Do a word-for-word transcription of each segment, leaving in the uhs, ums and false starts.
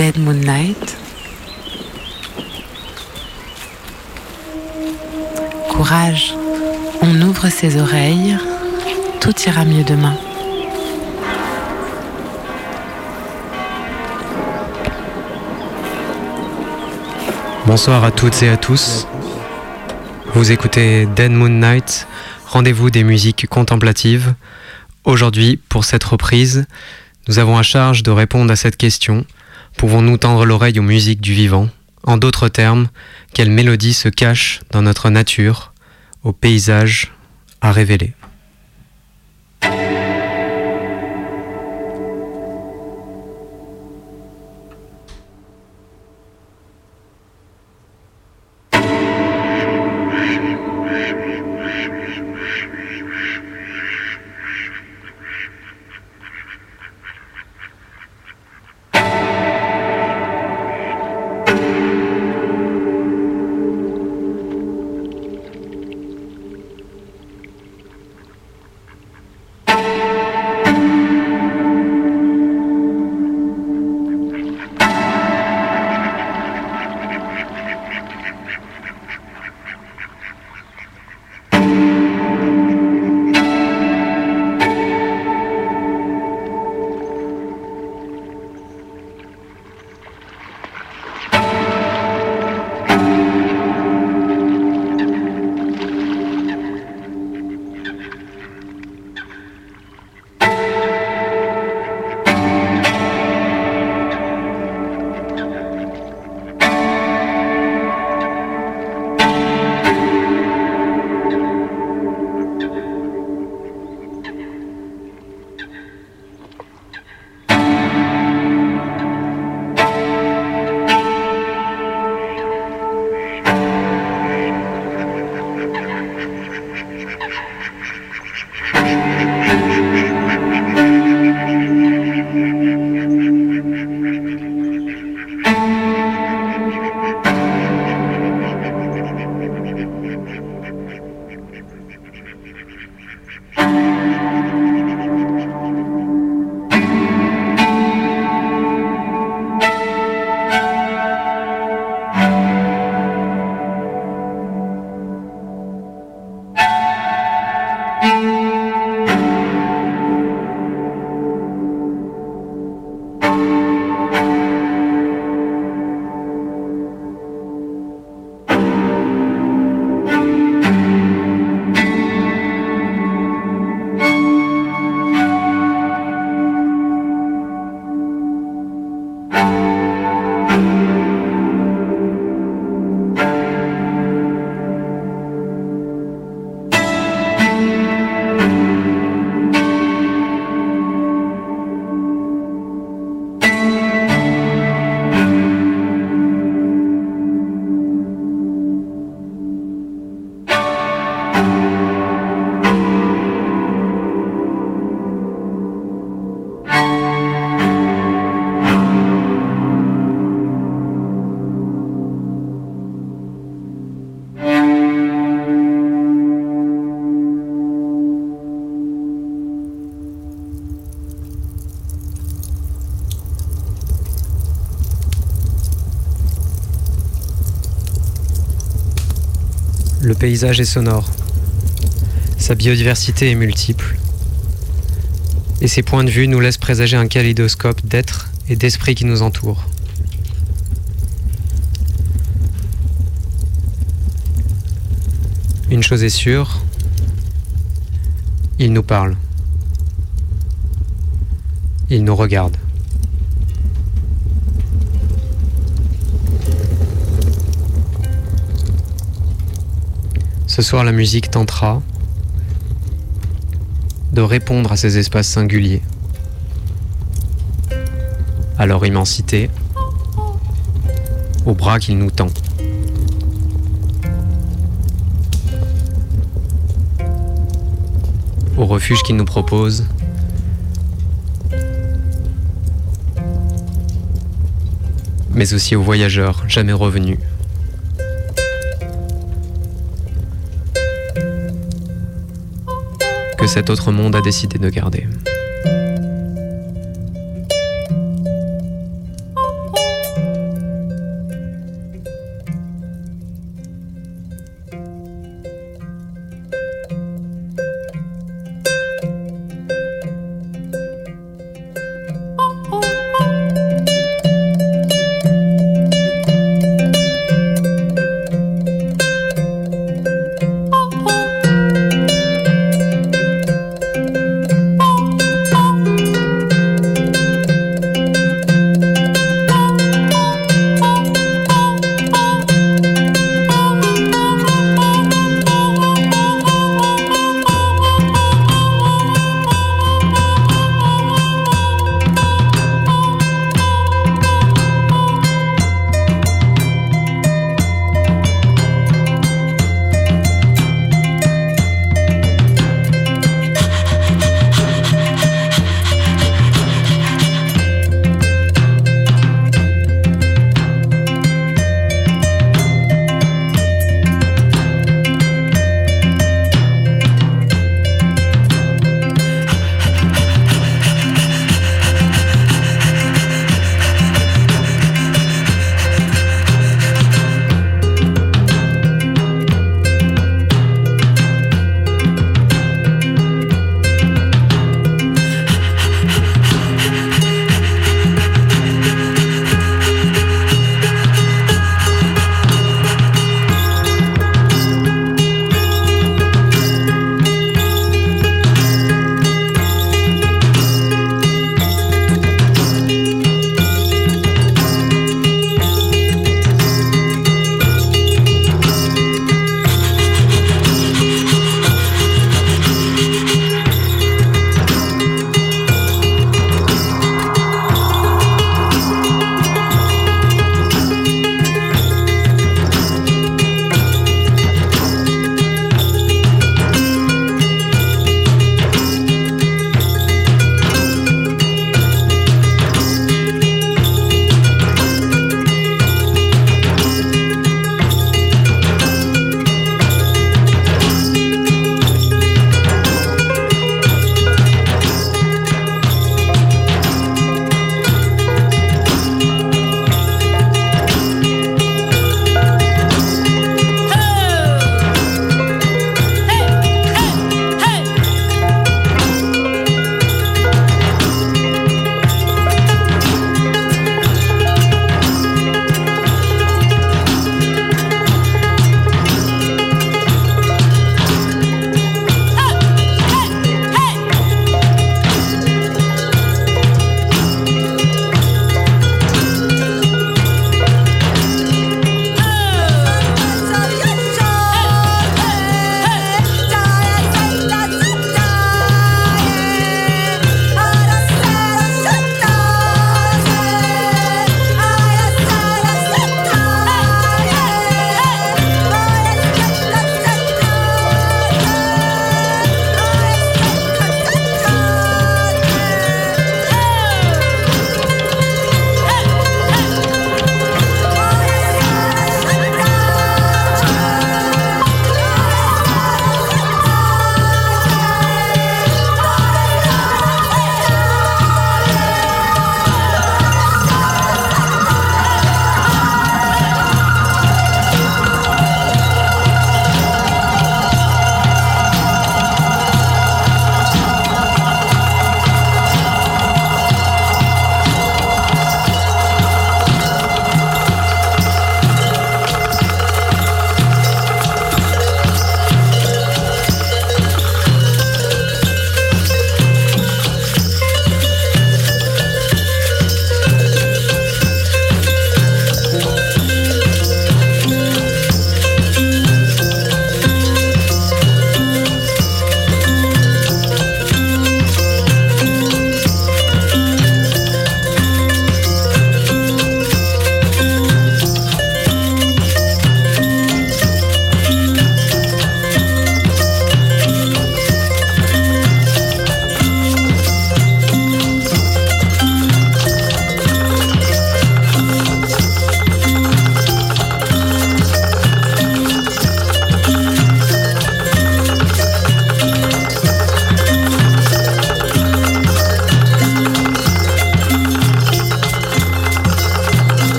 Dead Moon Night. Courage, on ouvre ses oreilles, tout ira mieux demain. Bonsoir à toutes et à tous. Vous écoutez Dead Moon Night, rendez-vous des musiques contemplatives. Aujourd'hui, pour cette reprise, nous avons à charge de répondre à cette question. Pouvons-nous tendre l'oreille aux musiques du vivant ? En d'autres termes, quelle mélodie se cache dans notre nature, aux paysages à révéler ? Le paysage est sonore, sa biodiversité est multiple, et ses points de vue nous laissent présager un kaléidoscope d'êtres et d'esprits qui nous entourent. Une chose est sûre, il nous parle, il nous regarde. Ce soir, la musique tentera de répondre à ces espaces singuliers, à leur immensité, aux bras qu'il nous tend. Au refuge qu'il nous propose, mais aussi aux voyageurs jamais revenus. Que cet autre monde a décidé de garder.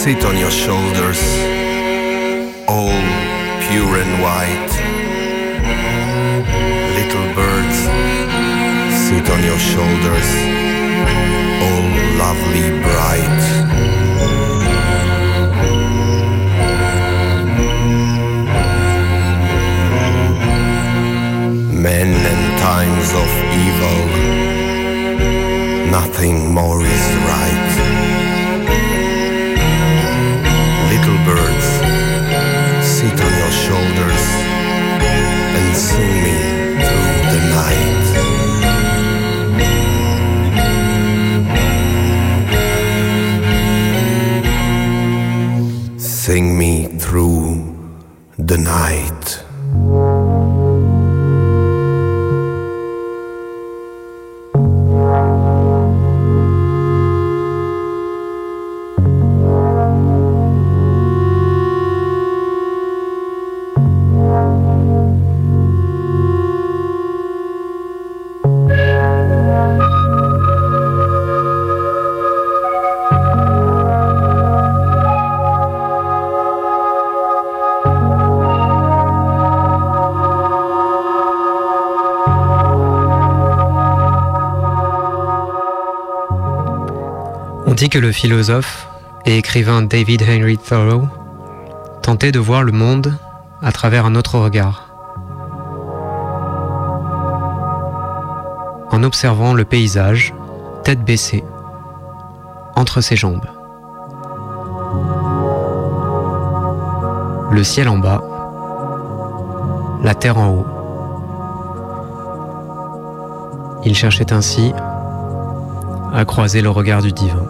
sit on your shoulders, all pure and white. Little birds, sit on your shoulders, all lovely bright. Men and times of evil, nothing more is right. Little birds, sit on your shoulders and sing me through the night. Sing me through the night. On dit que le philosophe et écrivain David Henry Thoreau tentait de voir le monde à travers un autre regard, en observant le paysage, tête baissée, entre ses jambes. Le ciel en bas, la terre en haut. Il cherchait ainsi à croiser le regard du divin.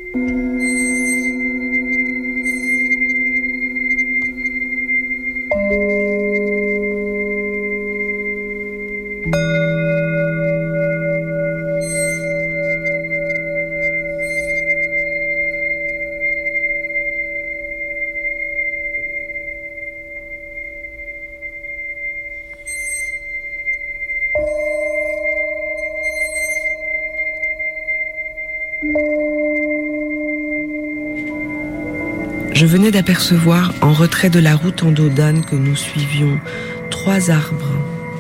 Je venais d'apercevoir, en retrait de la route en dos d'âne que nous suivions, trois arbres.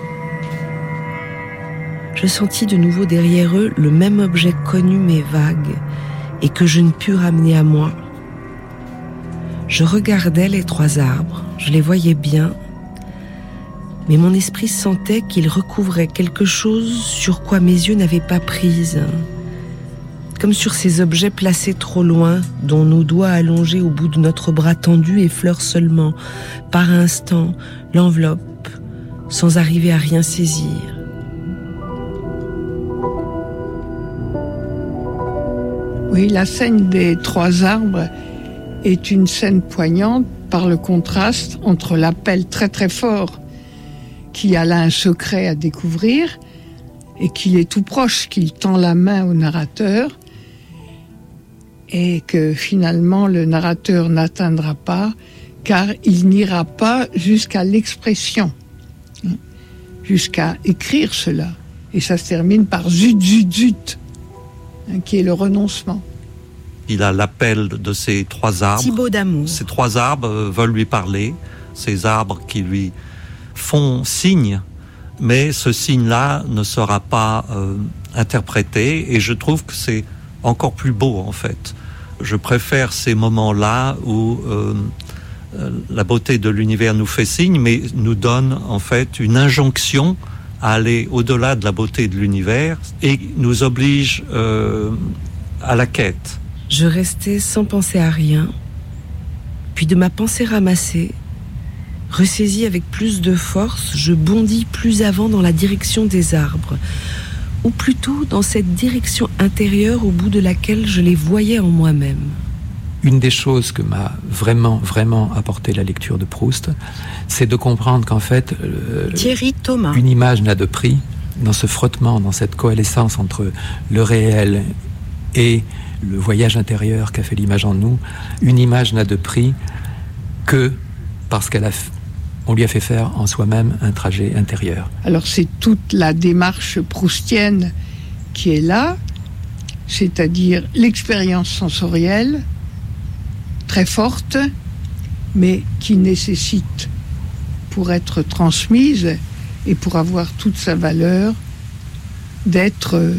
Je sentis de nouveau derrière eux le même objet connu mais vague, et que je ne pus ramener à moi. Je regardais les trois arbres, je les voyais bien, mais mon esprit sentait qu'ils recouvraient quelque chose sur quoi mes yeux n'avaient pas prise. Comme sur ces objets placés trop loin, dont nos doigts allongés au bout de notre bras tendu effleurent seulement, par instant, l'enveloppe, sans arriver à rien saisir. Oui, la scène des trois arbres est une scène poignante par le contraste entre l'appel très très fort qui a là un secret à découvrir et qu'il est tout proche, qu'il tend la main au narrateur, et que finalement le narrateur n'atteindra pas car il n'ira pas jusqu'à l'expression, jusqu'à écrire cela. Et ça se termine par zut, zut, zut, qui est le renoncement. Il a l'appel de ces trois arbres. Thibaut d'amour. Ces trois arbres veulent lui parler, ces arbres qui lui font signe, mais ce signe-là ne sera pas euh, interprété, et je trouve que c'est encore plus beau en fait. Je préfère ces moments-là où euh, la beauté de l'univers nous fait signe, mais nous donne en fait une injonction à aller au-delà de la beauté de l'univers et nous oblige euh, à la quête. Je restais sans penser à rien, puis de ma pensée ramassée, ressaisie avec plus de force, je bondis plus avant dans la direction des arbres, ou plutôt dans cette direction intérieure au bout de laquelle je les voyais en moi-même. Une des choses que m'a vraiment, vraiment apporté la lecture de Proust, c'est de comprendre qu'en fait, euh, Thierry Thomas. Une image n'a de prix dans ce frottement, dans cette coalescence entre le réel et le voyage intérieur qu'a fait l'image en nous. Une image n'a de prix que parce qu'elle a on lui a fait faire en soi-même un trajet intérieur. Alors c'est toute la démarche proustienne qui est là, c'est-à-dire l'expérience sensorielle, très forte, mais qui nécessite, pour être transmise et pour avoir toute sa valeur, d'être, euh,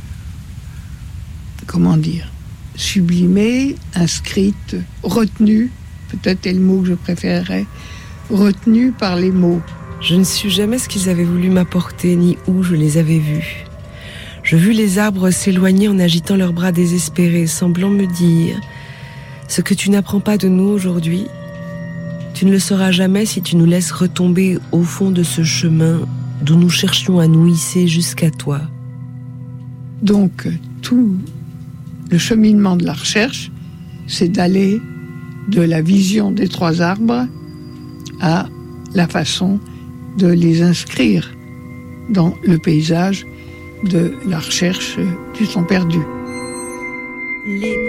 comment dire, sublimée, inscrite, retenue, peut-être est le mot que je préférerais, retenue par les mots. Je ne sus jamais ce qu'ils avaient voulu m'apporter, ni où je les avais vus. Je vis les arbres s'éloigner en agitant leurs bras désespérés, semblant me dire « Ce que tu n'apprends pas de nous aujourd'hui, tu ne le sauras jamais si tu nous laisses retomber au fond de ce chemin d'où nous cherchions à nous hisser jusqu'à toi. » Donc, tout le cheminement de la recherche, c'est d'aller de la vision des trois arbres à la façon de les inscrire dans le paysage de la recherche du son perdu. Les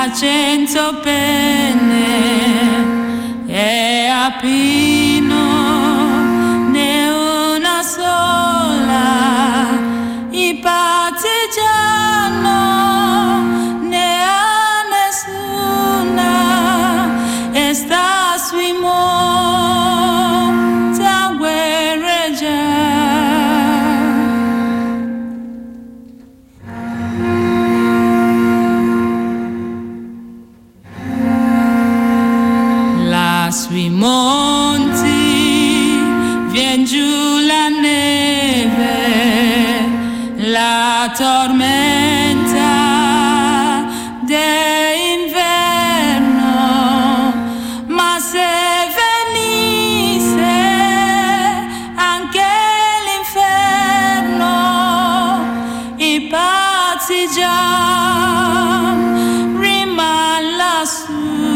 cento penne e a Pino ne una sola, i partigiano ne ha nessuna e sta sui monti a guerreggiare. Sui monti vien giù la neve, la tormenta d'inverno, ma se venisse anche l'inferno, i partigiani riman lassù.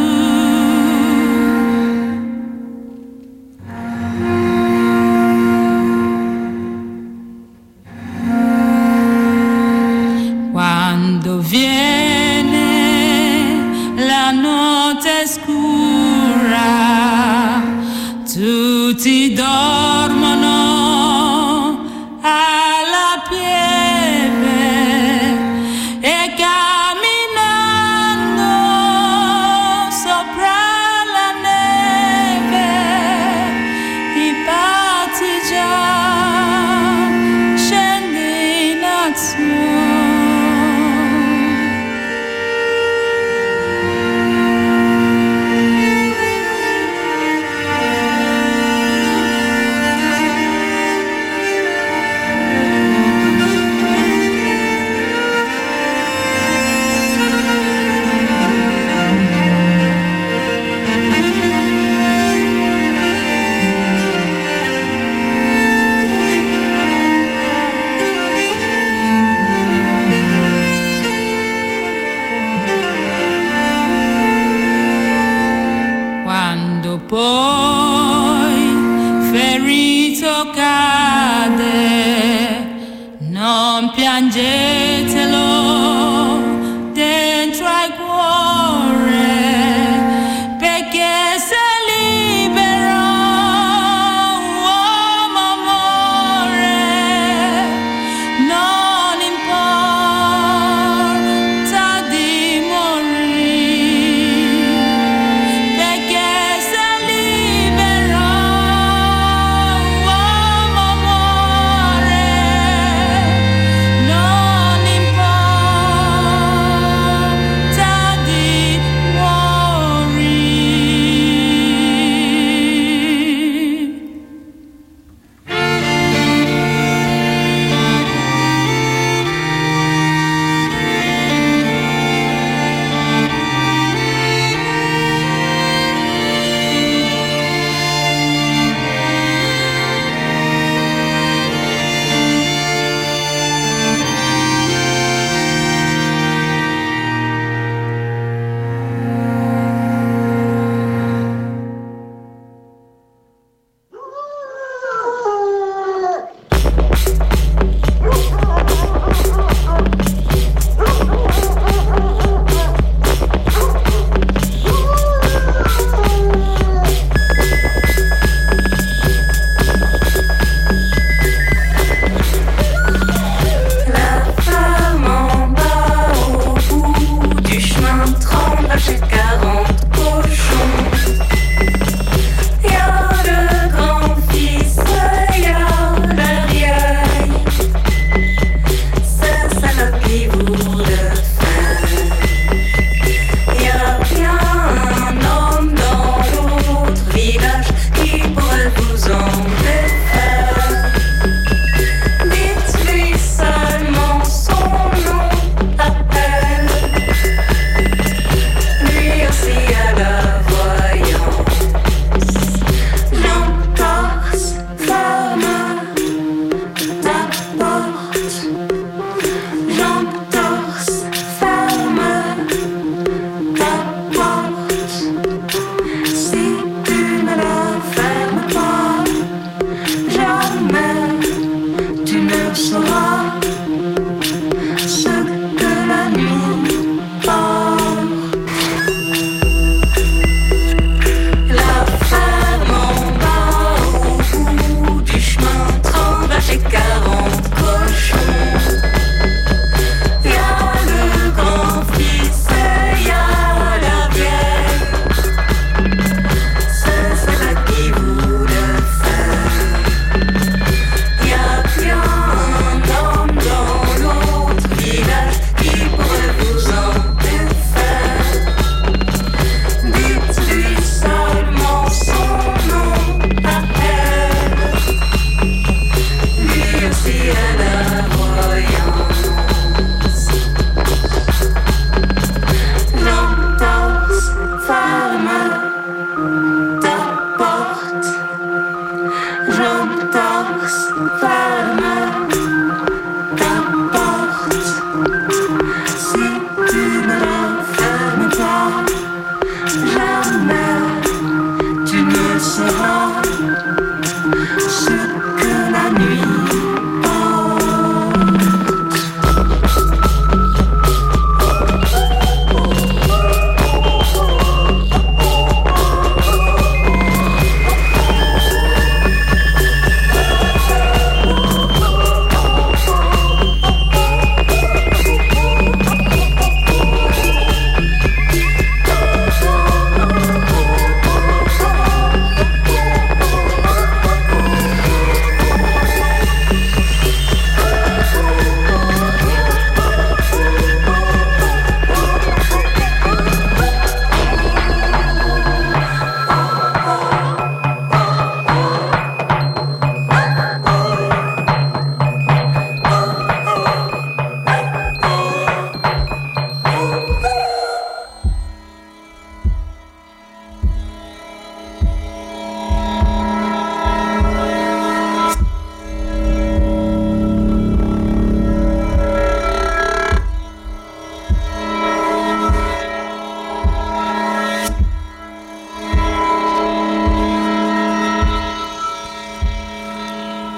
Viene la notte scura, tutti dormono alla pieve e camminando sopra la neve i partigiani scendono in azione.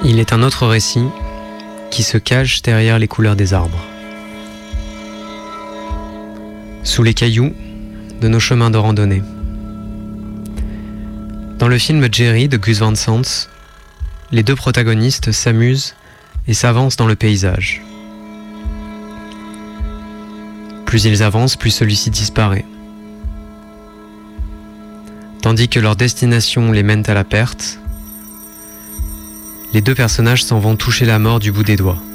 Il est un autre récit qui se cache derrière les couleurs des arbres. Sous les cailloux de nos chemins de randonnée. Dans le film Jerry de Gus Van Sant, les deux protagonistes s'amusent et s'avancent dans le paysage. Plus ils avancent, plus celui-ci disparaît. Tandis que leur destination les mène à la perte, les deux personnages s'en vont toucher la mort du bout des doigts.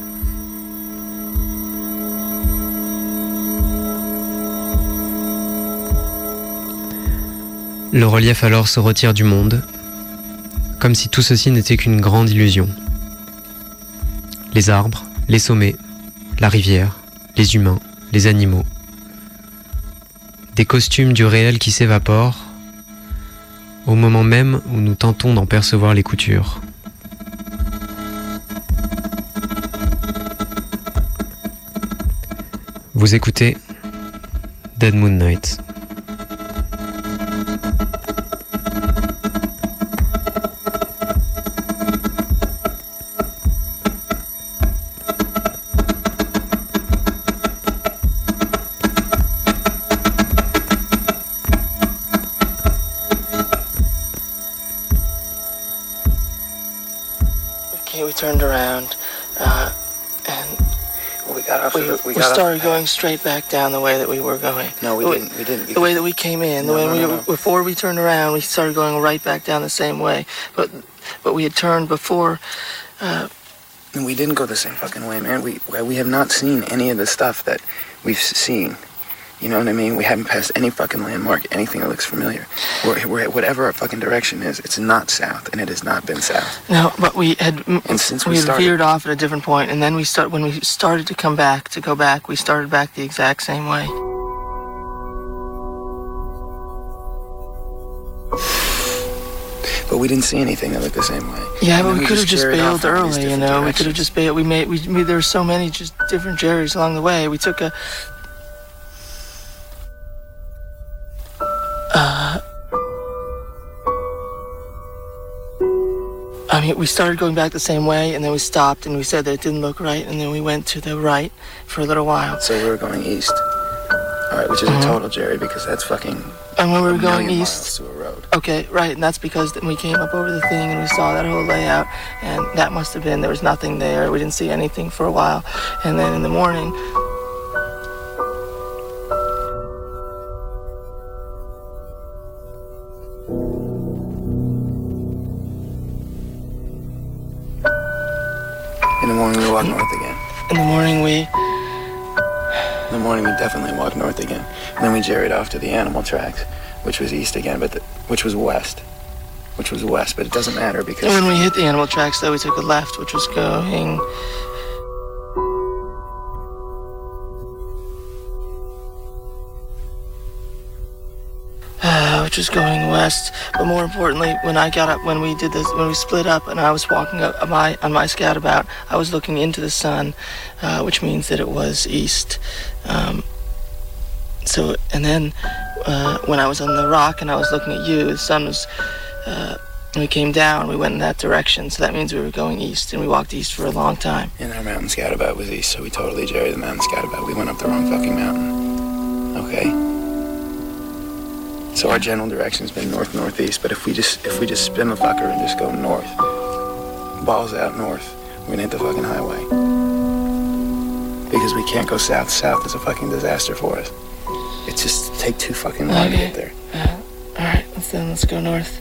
Le relief alors se retire du monde, comme si tout ceci n'était qu'une grande illusion. Les arbres, les sommets, la rivière, les humains, les animaux. Des costumes du réel qui s'évaporent, au moment même où nous tentons d'en percevoir les coutures. Vous écoutez Dead Moon Night. We turned around, uh, and we got off. We, the, we, we got started off. going straight back down the way that we were going. No, we the didn't. We didn't. The way that we came in. No, the way no, we, no, no. Before we turned around, we started going right back down the same way. But but we had turned before. Uh, and we didn't go the same fucking way, man. We we have not seen any of the stuff that we've seen. You know what I mean? We haven't passed any fucking landmark, anything that looks familiar. We're, we're, whatever our fucking direction is, it's not south, and it has not been south. No, but we had and since we, we had started, veered off at a different point, and then we start when we started to come back to go back, we started back the exact same way. But we didn't see anything that looked the same way. Yeah, and but we, we could have just bailed early, you know. Directions. We could have just bailed. We made we, we there were so many just different Jerrys along the way. We took a. Uh, I mean, we started going back the same way, and then we stopped, and we said that it didn't look right, and then we went to the right for a little while. So we were going east, all right, which is mm-hmm. a total Jerry, because that's fucking. And when we were a going million east, miles to a road. Okay, right, and that's because then we came up over the thing, and we saw that whole layout, and that must have been there was nothing there. We didn't see anything for a while, and then in the morning. In the morning, we walked north again. In the morning, we... In the morning, we definitely walked north again. And then we jerried off to the animal tracks, which was east again, but the, which was west. Which was west, but it doesn't matter because... And when we hit the animal tracks, though, we took a left, which was going... Uh, which was going west, but more importantly, when I got up, when we did this, when we split up, and I was walking up on my on my scoutabout, I was looking into the sun, uh, which means that it was east. Um, so, and then uh, when I was on the rock and I was looking at you, the sun was. Uh, we came down. We went in that direction, so that means we were going east, and we walked east for a long time. And our mountain scoutabout was east, so we totally jerried the mountain scoutabout. We went up the wrong fucking mountain. Okay. So our general direction's been north-northeast, but if we just if we just spin the fucker and just go north, balls out north, we're gonna hit the fucking highway. Because we can't go south. South is a fucking disaster for us. It's just take too fucking long okay. to get there. Uh, all right, let's then let's go north.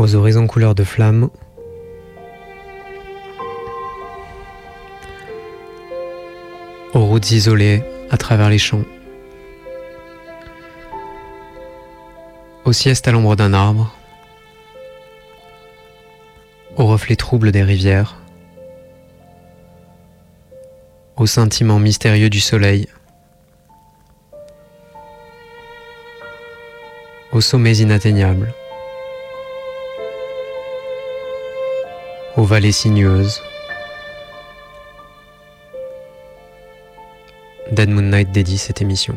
aux horizons couleur de flamme, aux routes isolées à travers les champs, aux siestes à l'ombre d'un arbre, aux reflets troubles des rivières, aux scintillements mystérieux du soleil, aux sommets inatteignables, aux vallées sinueuses. Dead Moon Night dédie cette émission.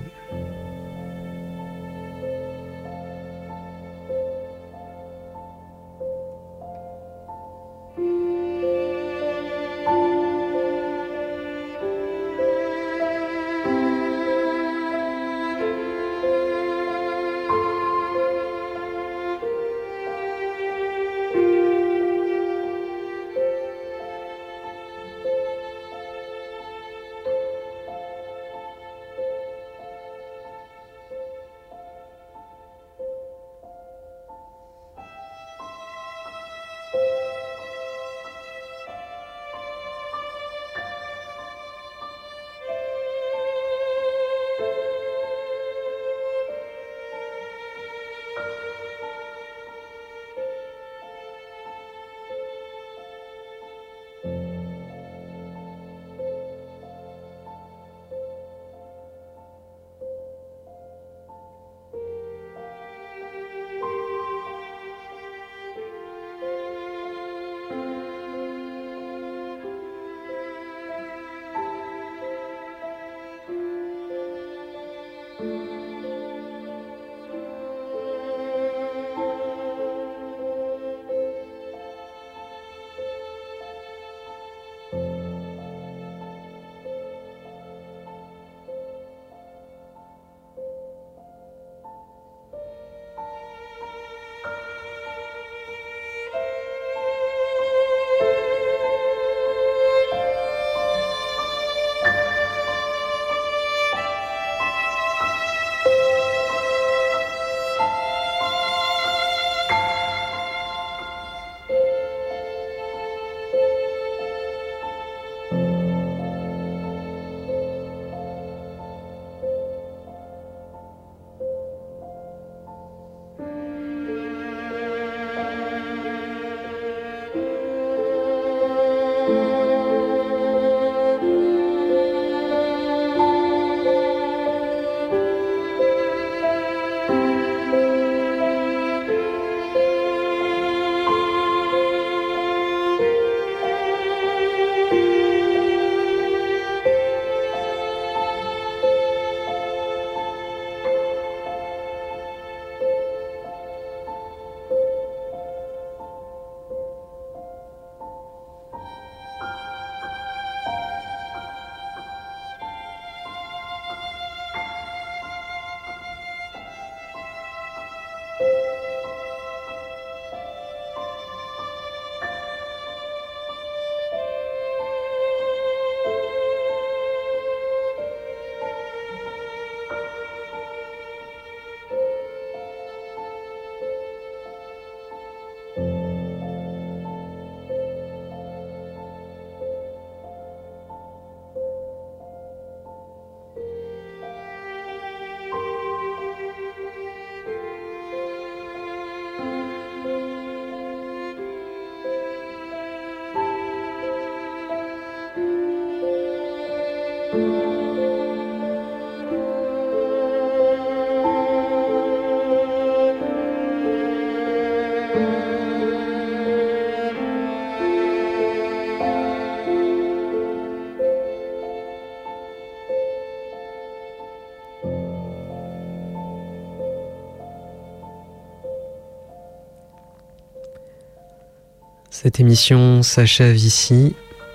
Cette émission s'achève ici.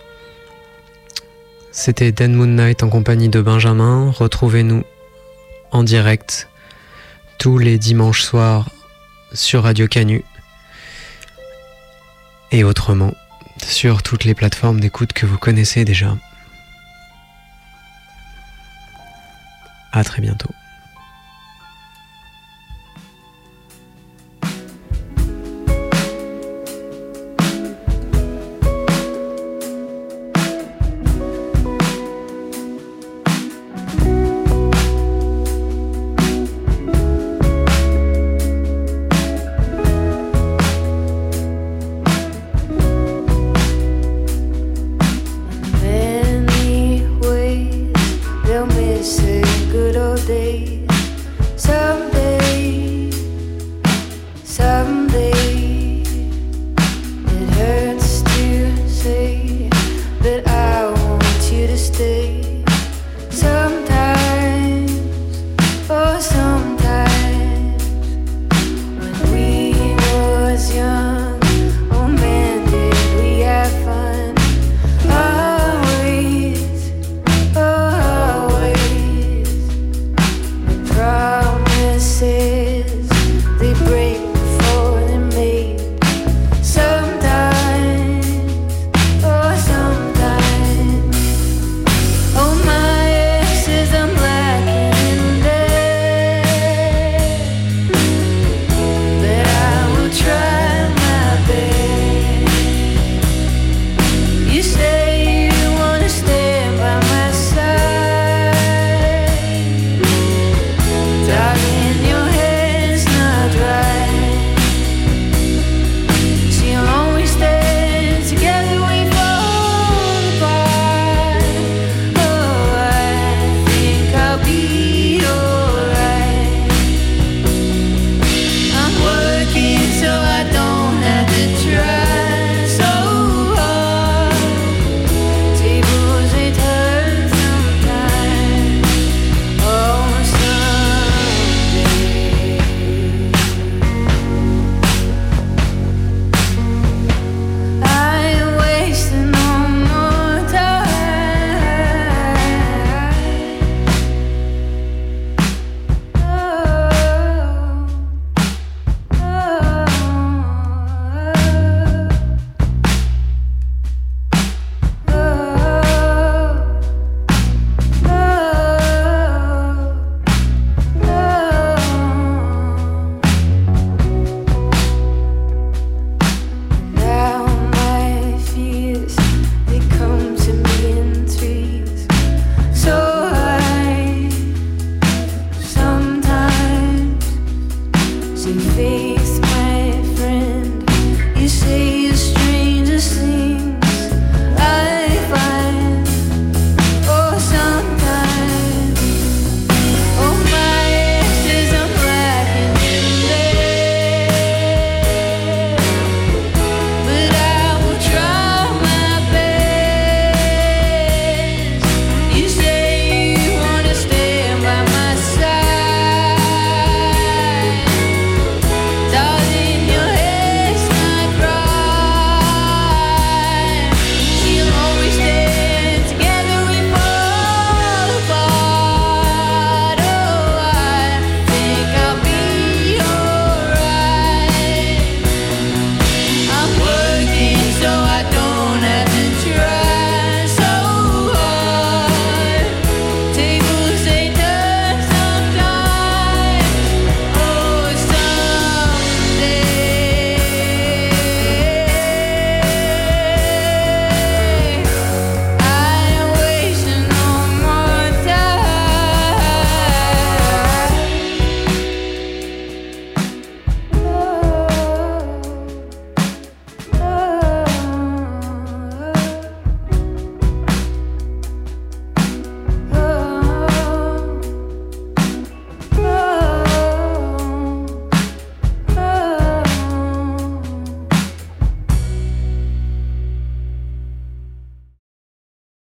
C'était Dead Moon Night en compagnie de Benjamin. Retrouvez-nous en direct tous les dimanches soirs sur Radio Canu et autrement sur toutes les plateformes d'écoute que vous connaissez déjà. À très bientôt.